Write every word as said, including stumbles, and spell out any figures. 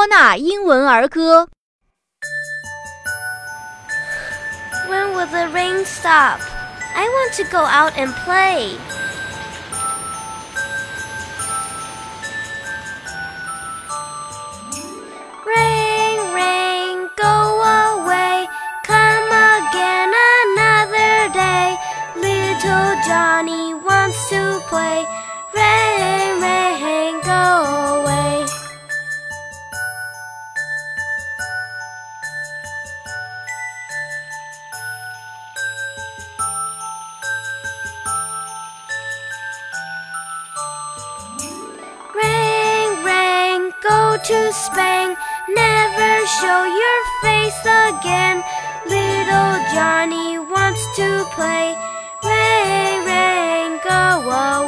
纳英文儿歌。 When will the rain stop? I want to go out and play. Rain, rain, go away. Come again another day. Little Johnny wants to play. Rain, rain, go away. Rain, rain, go to Spain. Never show your face again. Little Johnny wants to play. Rain, rain, go away.